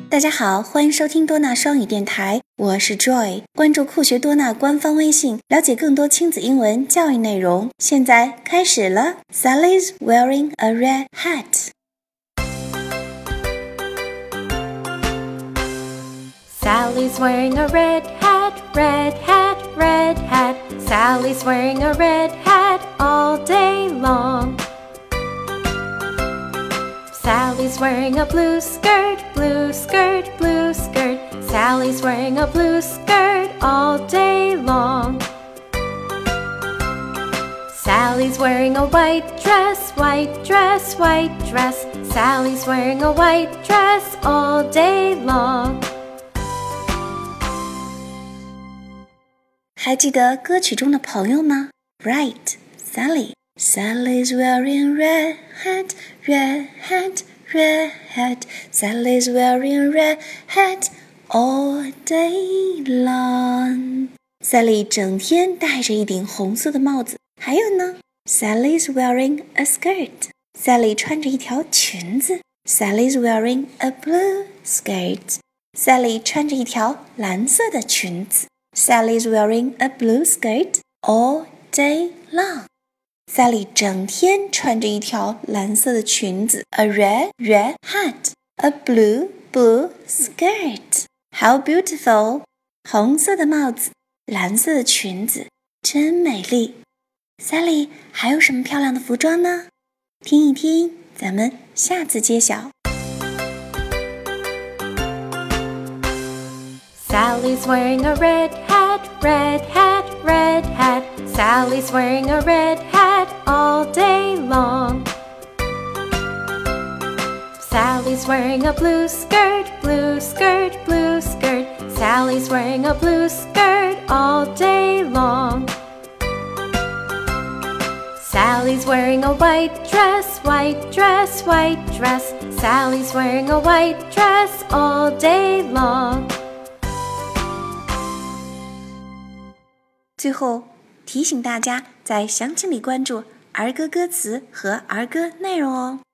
大家好，欢迎收听多纳双语电台，我是 Joy。关注酷学多纳官方微信，了解更多亲子英文教育内容。现在开始了。Sally's wearing a red hat. Sally's wearing a red hat, red hat, red hat. Sally's wearing a red hat all day long. Sally's wearing a blue skirt, blue skirt, blue skirt. Sally's wearing a blue skirt all day long. Sally's wearing a white dress, white dress, white dress. Sally's wearing a white dress all day long. 还记得歌曲中的朋友吗 ？Right, Sally. Sally's wearing red hat, red hat, red hat. Sally's wearing red hat all day long. Sally 整天戴着一顶红色的帽子。还有呢 ，Sally's wearing a skirt. Sally 穿着一条裙子。Sally's wearing a blue skirt. Sally 穿着一条蓝色的裙子。Sally's wearing a blue skirt all day long. Sally 整天穿着一条蓝色的裙子 ，a red hat, a blue skirt. How beautiful! 红色的帽子，蓝色的裙子，真美丽。Sally 还有什么漂亮的服装呢？听一听，咱们下次揭晓。 Sally's wearing a red hat, red hat, red hat. Sally's wearing a red hat all day long. Sally's wearing a blue skirt, blue skirt, blue skirt. Sally's wearing a blue skirt all day long. Sally's wearing a white dress, white dress, white dress. Sally's wearing a white dress all day long. 最后提醒大家在详情里关注儿歌歌词和儿歌内容哦。